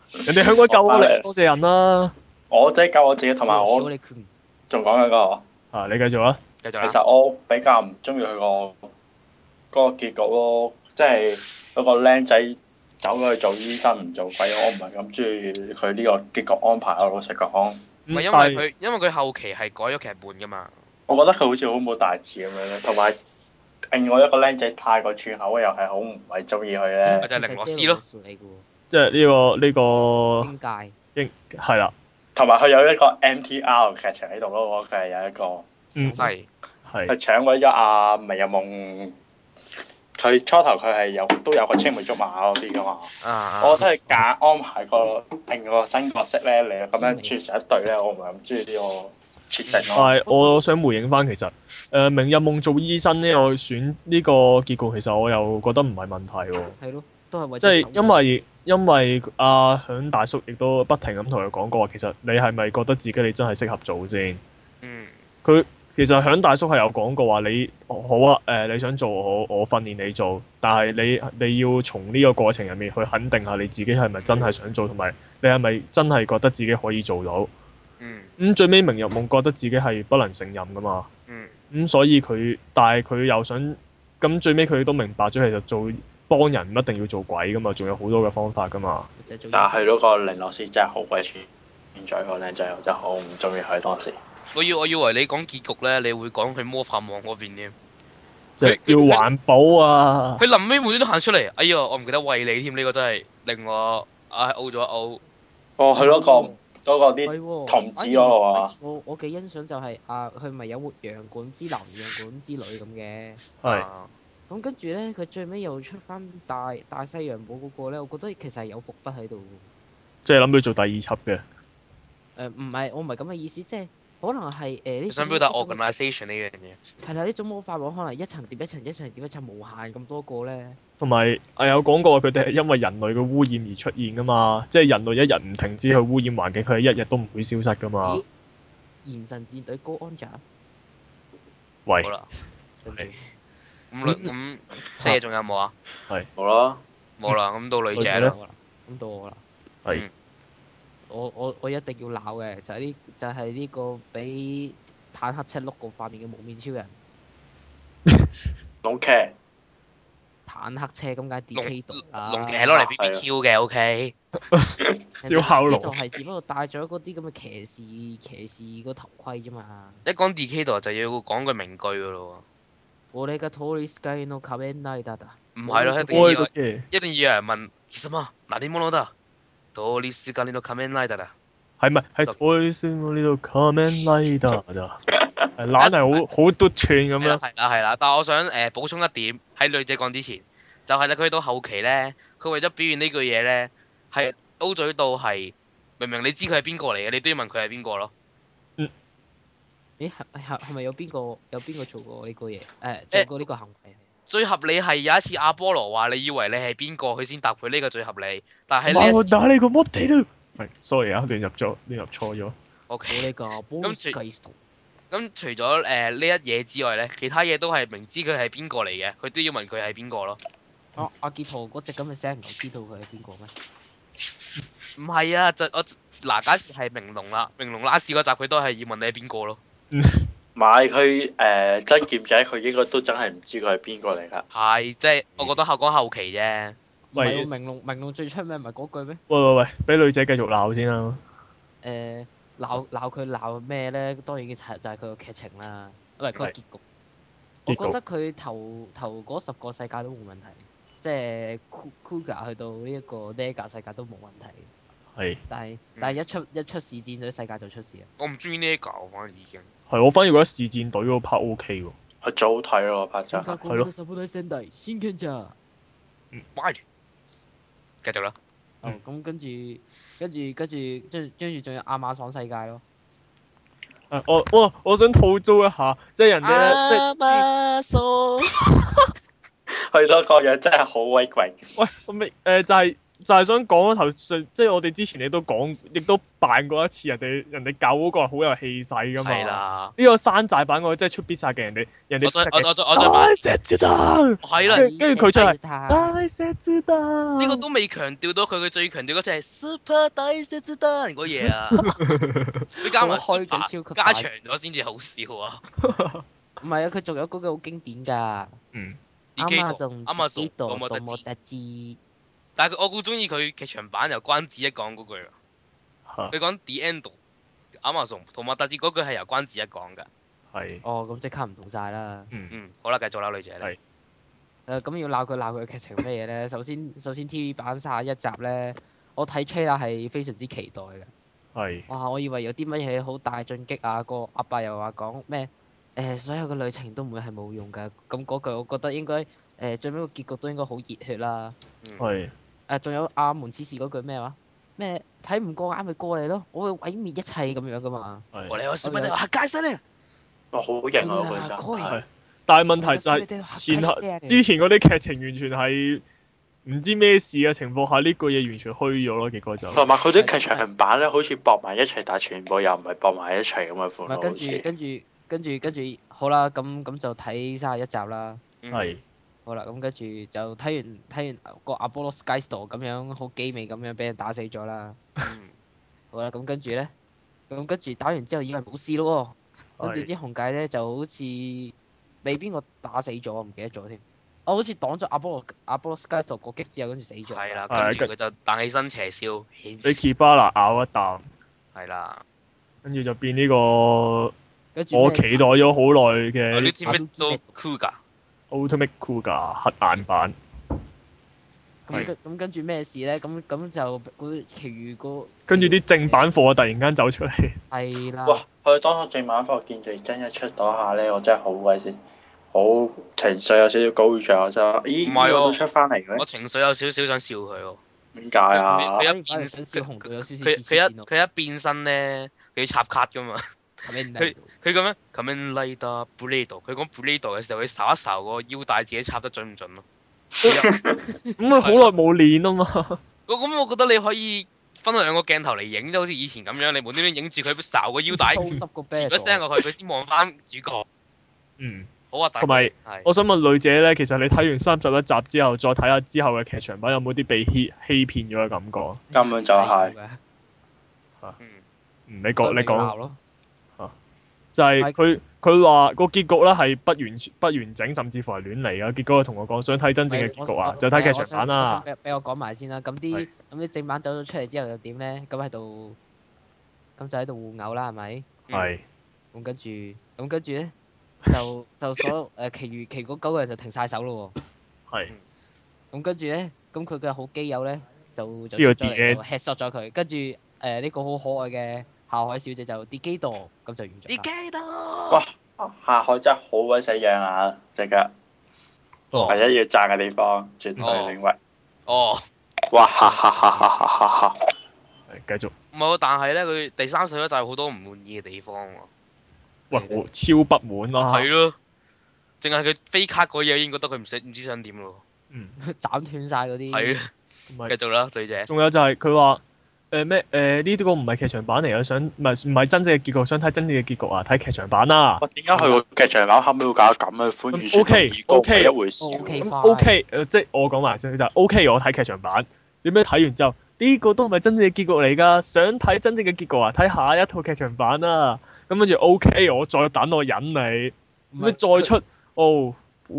人哋香港救我你，多謝人啦。 我真係救我自己，同埋我仲講緊個。 啊，你繼續啊！ 其實我比較唔中意佢個結局咯，即係嗰個僆仔走咗去做醫生唔做鬼，我唔係咁中意佢呢個結局安排。我老實講， 唔係因為佢後期係改咗劇本噶嘛。 我覺得佢好似好冇大志咁樣咧，同埋另外一個僆仔太過串口，又係好唔係中意佢咧。 就係凌樂斯咯。 即係呢個邊界應係啦。 同埋佢有一個 MTR 劇情喺度咯，佢係有一個。 係。 佢搶鬼咗阿明日夢，佢初頭佢係都有個青梅竹馬嗰啲噶嘛。我覺得佢夾安排另個新角色咧嚟咁樣串成一對咧，我唔係咁中意呢個設定咯。 但係我想回應翻，其實明日夢做醫生呢個選呢個結局，其實我又覺得唔係問題喎。 係咯，都係為即係因為阿響大叔亦都不停咁同佢講過話，其實你係咪覺得自己你真係適合做先？佢。其實響大叔係有講過話，你好啊，你想做我訓練你做，但係你要從呢個過程入面去肯定下你自己係咪真係想做，同埋你係咪真係覺得自己可以做到？最尾明日夢覺得自己係不能勝任噶嘛。所以但係佢又想，咁最尾佢都明白咗，其實做幫人唔一定要做鬼噶嘛，仲有好多嘅方法噶嘛。 但係嗰個凌樂師真係好鬼串，現在個靚仔我真係好唔中意佢當時。 我以為你講結局咧，你會講佢魔法網嗰邊添。 即係要環保啊！ 佢臨尾每啲都行出嚟，哎呀，我唔記得餵你添，呢個真係令我嘔咗嘔。 佢嗰個啲童子嗰個啊！ 我幾欣賞就係佢咪有活陽管之男、陽管之女咁嘅。 係。 咁跟住咧，佢最尾又出翻大西洋堡嗰個咧，我覺得其實係有伏筆喺度。 即係諗住做第二輯嘅。 唔係，我唔係咁嘅意思，即係。可能係呢想表達 organisation 呢樣嘢。 係啦，呢種魔法網可能一層疊一層，一層疊一層，無限咁多個咧。 同埋有講過佢哋係因為人類嘅污染而出現噶嘛，即係人類一日唔停止去污染環境，佢係一日都唔會消失噶嘛。 炎神戰隊高安長。 喂。 好啦。咁七嘢仲有冇啊？ 係。 冇啦。 冇啦，咁到女仔啦。 咁到我啦。 係。 我一定要鬧嘅就係呢個俾坦克車碌過塊面嘅無面超人。 龍騎。 坦克車咁解 DK 度啊！ 龍騎係攞嚟 BBQ 嘅 OK。 燒烤爐。 就係只不過戴咗嗰啲咁嘅騎士個頭盔啫嘛。 一講 DK 度就要講句名句噶咯喎。 我哋嘅通りスカイの仮面ライダーだ。 唔係咯，一定要有人問，其實嘛，嗱啲乜得？通りすがりの仮面ライダーだ。 係咪？係通りすがりの仮面ライダー咋？懶係好嘟串咁樣。 係啦，但係我想補充一點，喺女仔講之前，就係咧佢到後期咧，佢為咗表現呢句嘢咧，係 O 嘴到係明明你知佢係邊個嚟嘅，你都要問佢係邊個咯。 咦？係咪有邊個做過呢個嘢？做過呢個行為？ 最合理係有一次阿波羅話你以為你係邊個，佢先答佢呢個最合理。但係呢一次， 打你個摩地咯。係，sorry 啊，亂入錯咗。 OK。咁除咗呢一嘢之外咧，其他嘢都係明知佢係邊個嚟嘅，佢都要問佢係邊個咯。 阿傑圖嗰隻咁嘅聲唔知道佢係邊個咩？ 唔係啊，假設係明龍啦，明龍拉屎嗰集佢都係要問你係邊個咯。 買佢真劍仔，佢應該都真係唔知佢係邊個嚟㗎。 係，即係我覺得講後期啫。 唔係明龍最出名唔係嗰句咩？ 喂，俾女仔繼續鬧先啦。 鬧佢鬧咩咧？當然就係佢個劇情啦，唔係佢個結局。我覺得佢頭嗰10個世界都冇問題，即係 Kuga 去到呢一個 Nega 世界都冇問題。 係。 但係一出視戰隊世界就出事啦。 我唔中意 Nega 我反而已經。 係，我反而覺得視戰隊嗰 part OK 喎。 係最好睇咯，拍真係。 係咯。 歪住。繼續啦。 咁跟住仲有亞馬遜世界咯。 我想吐槽一下，即係人哋咧， 亞馬遜。 去到個樣真係好鬼貴。 喂，就係就係想講頭先，即係我哋之前你都講，亦都扮過一次人哋救嗰個係好有氣勢噶嘛。 係啦。 呢個山寨版嗰個即係出必殺嘅人哋我再係啦，跟住佢出嚟大石子彈。 呢個都未強調到佢最強調嗰隻係 Super 大石子彈嗰嘢啊！佢加埋開咗 Super 超級加長咗先至好笑啊！ 唔係啊，佢仲有嗰句好經典㗎。啱啊，仲 Amazon 多麼得知。 但係我好中意佢劇場版由關子一講嗰句啊！佢講 The End Amazon 同埋特指嗰句係由關子一講㗎。 係。 哦，咁即刻唔同晒啦。 好啦，繼續啦，女仔咧。 咁要鬧佢嘅劇情咩嘢咧？首先 TV 版31集咧，我睇 trailer 係非常之期待嘅。 係。 哇！我以為有啲乜嘢好大進擊啊！個阿伯又話講咩？所有嘅旅程都唔會係冇用㗎。咁嗰句我覺得應該最尾個結局都應該好熱血啦。 係。 仲有阿門此時嗰句咩話？咩睇唔過眼咪過嚟咯，我會毀滅一切咁樣噶嘛。 我哋小朋友嚇解身啊！ 哇，好型啊！嗰陣。 係。但係問題就係之前嗰啲劇情完全係唔知咩事嘅情況下，呢句嘢完全虛咗咯，結果就。 同埋佢啲劇場版咧，好似駁埋一齊，但係全部又唔係駁埋一齊咁嘅款咯。 跟住好啦，咁就睇31集啦。 係。 好啦，咁跟住就睇完個阿波羅 Skystorm 咁樣好機尾咁樣俾人打死咗啦。好啦，咁跟住咧，打完之後以為冇事咯喎，跟住啲紅界咧就好似俾邊個打死咗，我唔記得咗添。我好似擋咗阿波羅 Skystorm 個擊之後，跟住死咗。 係啦，跟住佢就彈起身斜燒， 俾 Kibana 咬一啖。 係啦。 跟住就變呢個我期待咗好耐嘅。Ultimate Kuga 黑眼版。 咁跟住咩事咧？咁就嗰其餘個。跟住啲正版貨突然間走出嚟。 係啦。 哇！佢當初正版貨見住真一出嗰下咧，我真係好鬼死，好情緒有少少高漲，真係。咦？唔係喎，都出翻嚟嘅咩？ 我情緒有少少想笑佢喎。 點解啊？ 佢一變身咧，佢要插卡噶嘛。佢咁樣 Kamen Rider Blade，佢講 Blade 嘅時候，佢睄一睄個腰帶，自己插得準唔準咯？ 咁佢好耐冇練啊嘛。 咁我覺得你可以分兩個鏡頭嚟影，即係好似以前咁樣，你無端端影住佢睄個腰帶，接一聲落去，佢先望翻主角。好核突。同埋， 我想問女姐咧，其實你睇完31集之後，再睇下之後嘅劇場版，有冇啲被欺騙咗嘅感覺？ 根本就係。 你講。就係佢話個結局咧係不完整，甚至乎係亂嚟嘅。結果佢同我講想睇真正嘅結局啊，就睇劇場版啦。 俾我講埋先啦。咁啲正版走咗出嚟之後又點咧？咁就喺度互毆啦，係咪？ 係。 咁跟住咧，就所有其餘嗰9個人就停晒手咯喎。 係。 咁跟住咧，咁佢嘅好基友咧就出咗嚟就 headshot 咗佢，跟住呢個好可愛嘅夏海小姐就跌機度，咁就完咗。 跌機度！ 哇！夏海真係好鬼死樣啊！隻腳，唯一要讚嘅地方，絕對領域。哇！哈哈哈哈哈哈哈！ 繼續。 唔係喎，但係咧，佢第3集就係好多唔滿意嘅地方喎。 喂，超不滿咯！ 係咯，淨係佢飛卡嗰嘢已經覺得佢唔知想點咯。 斬斷晒嗰啲。 係啊。繼續啦，女姐。 仲有就係佢話。呢啲個唔係劇場版嚟嘅，唔係真正嘅結局，想睇真正嘅結局啊！睇劇場版啦。 點解佢個劇場版後尾會搞咁嘅歡愉 ？OK， 一回事。 OK，即係我講埋先就係 OK，我睇劇場版。點樣睇完之後，呢個都唔係真正嘅結局嚟㗎。想睇真正嘅結局啊，睇下一套劇場版啦。咁跟住 OK，我再等我忍你。咁再出哦，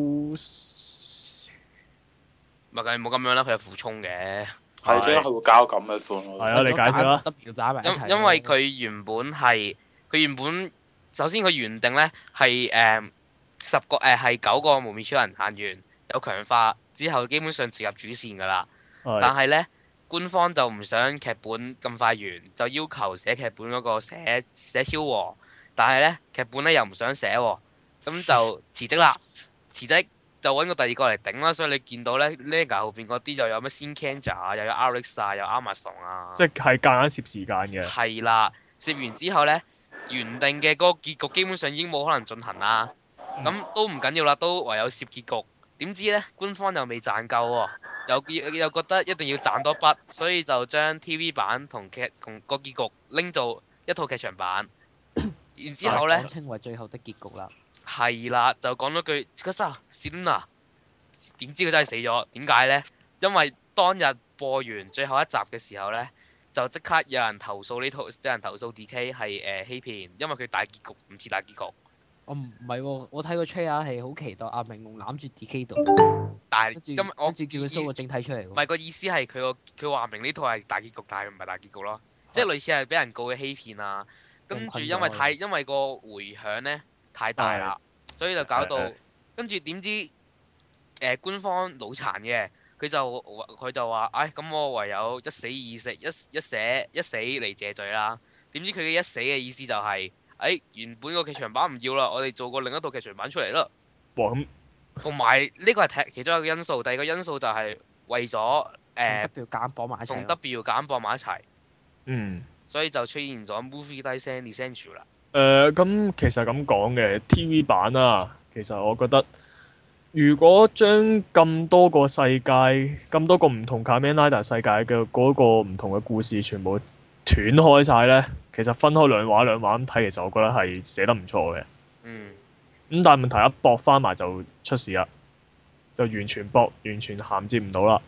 咪梗係冇咁樣啦，佢有負充嘅。 係點解佢會交咁嘅款？ 係啊，你解釋啦。 因為佢原本首先佢原定咧係係9個幪面超人行完有強化之後，基本上直入主線㗎啦。但係咧官方就唔想劇本咁快完，就要求寫劇本嗰個寫超和，但係咧劇本咧又唔想寫喎，咁就辭職啦，辭職。就揾個第二個嚟頂啦，所以你見到咧 Lega 後邊嗰啲又有咩 Shinkenger 啊，又有 Alex 啊，又 Amazon 啊， 即係夾硬攝時間嘅。 係啦，攝完之後咧，原定嘅嗰個結局基本上已經冇可能進行啦。咁都唔緊要啦，都唯有攝結局。點知咧官方又未賺夠喎， 又覺得一定要賺多筆，所以就將 TV 版同個結局拎做一套劇場版。然之後咧， 講稱為最後的結局啦。 係啦，就講咗句嗰陣Selina，點知佢真係死咗？點解咧？因為當日播完最後一集嘅時候咧，就即刻有人投訴有人投訴 DK 係欺騙，因為佢大結局唔似大結局。 我唔係喎，我睇個 trailer 係好期待阿明龍攬住 DK 度， 但係跟住今我叫佢 show 個正體出嚟喎。 唔係個意思係佢話明呢套係大結局，但係唔係大結局咯，即係類似係俾人告嘅欺騙啊。跟住因為個迴響咧太大啦，所以就搞到跟住點知官方腦殘嘅，佢就話，咁我唯有一死嚟謝罪啦。點知佢嘅一死嘅意思就係，原本個劇場版唔要啦，我哋做過另一套劇場版出嚟啦。 咁同埋呢個係其中一個因素，第二個因素就係為咗同 W 夾硬綁埋一齊。 同 W 夾硬綁埋一齊。 嗯。 所以就出現咗 Movie Tyson Essential 啦。 咁其實咁講嘅 TV 版啊，其實我覺得，如果將咁多個世界、咁多個唔同 Kamen Rider 世界嘅嗰個唔同嘅故事全部斷開晒呢，其實分開兩畫咁睇，其實我覺得係寫得唔錯嘅。 嗯。 咁但係問題一駁翻埋就出事啦，就完全銜接唔到啦。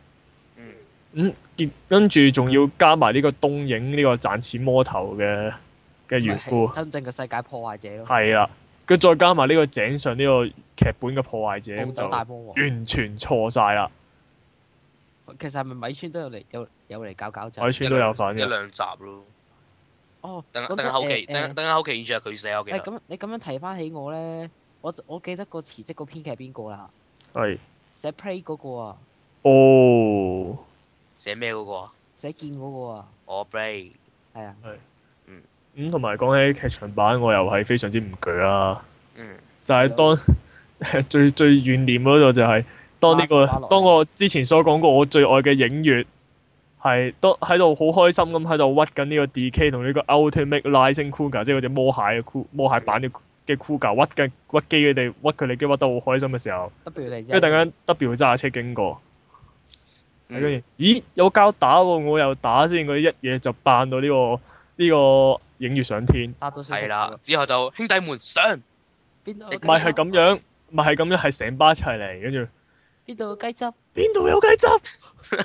跟住仲要加埋呢個東映呢個賺錢魔頭嘅緣故， 真正嘅世界破壞者咯。 係啦，佢再加埋呢個井上呢個劇本嘅破壞者， 暴走大魔王完全錯晒啦。 其實係咪米村都有嚟搞就？ 米村都有份嘅。 一兩集咯。 哦。 等下後期完全係佢寫，我記得。 咁你咁樣提翻起我咧，我記得個辭職個編劇係邊個啦？ 係。 寫 Play 嗰個啊。 哦。 寫咩嗰個啊？ 寫劍嗰個啊。 我 Play。 係啊。 係。咁同埋講起劇場版，我又係非常之唔鋸啦。就係當最懸念嗰度就係當我之前所講過我最愛嘅影月係都喺度好開心咁喺度屈緊呢個 D.K 同呢個 Ultimate Rising Kuga， 即係嗰隻魔蟹版嘅 Kuga 屈機佢哋機屈得好開心嘅時候，跟住突然間 W 揸下車經過，跟住咦有交打喎，我又打先，佢一嘢就扮到呢個影月上天。 係啦，之後就兄弟們上。 邊度？ 唔係咁樣，係成班一齊嚟，跟住邊度有雞汁？ 邊度有雞汁？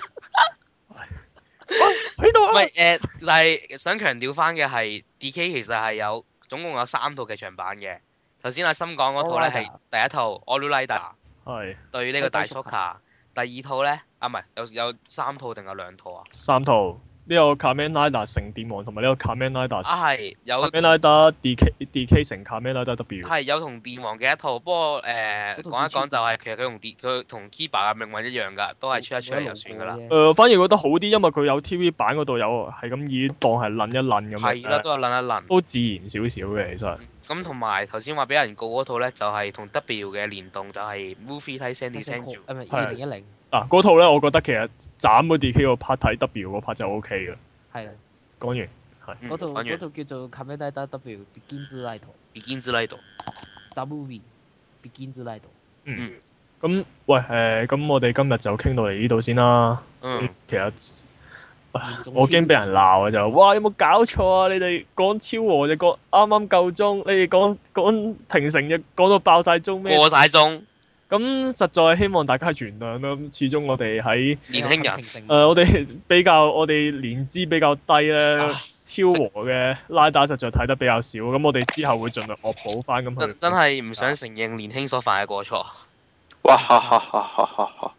喺度啊！ 唔係但係想強調翻嘅係 D.K 其實係總共有3套劇場版嘅。頭先阿森講嗰套咧係第一套 All Rider 係對呢個大叔卡，第二套咧唔係有3套定有2套啊 ？3套。呢個 Kamen Rider 成電王同埋呢個 Kamen Rider 係有 Kamen Rider DK 成 Kamen Rider W 係有同電王嘅一套，不過講一講就係其實佢同 Kiba 嘅命運一樣㗎，都係出一出嚟就算㗎啦。 反而覺得好啲，因為佢有 TV 版嗰度有係咁以當係撚一撚咁樣。 係啦，都係撚一撚。 都自然少少嘅其實。 咁同埋頭先話俾人告嗰套咧，就係同 W 嘅聯動，就係 Movie Tyson Essential。 係咪2010？ 嗰套咧，我覺得其實斬咗 D.K 個 part 睇 W 嗰 part 就 O K 嘅。 係啦。 講完係。 嗰套叫做 Kamen Rider W Begins Light。 Begins Light。 The Movie Begins Light。 咁喂咁我哋今日就傾到嚟呢度先啦。其實我驚俾人鬧啊！就哇有冇搞錯啊？你哋講超和就講啱啱夠鐘，你哋講平成就講到爆晒鐘咩？ 過晒鐘。 咁實在希望大家原諒啦。咁始終我哋喺年輕人， 我哋年資比較低咧，超和嘅拉打實在睇得比較少。咁我哋之後會盡量惡補翻咁去。 真係唔想承認年輕所犯嘅過錯。 哇哈哈哈哈哈哈！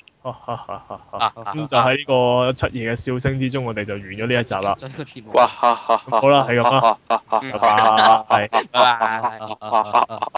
咁就喺呢個七爺嘅笑聲之中，我哋就完咗呢一集啦。 哇哈哈！ 好啦，係咁啦。 拜拜。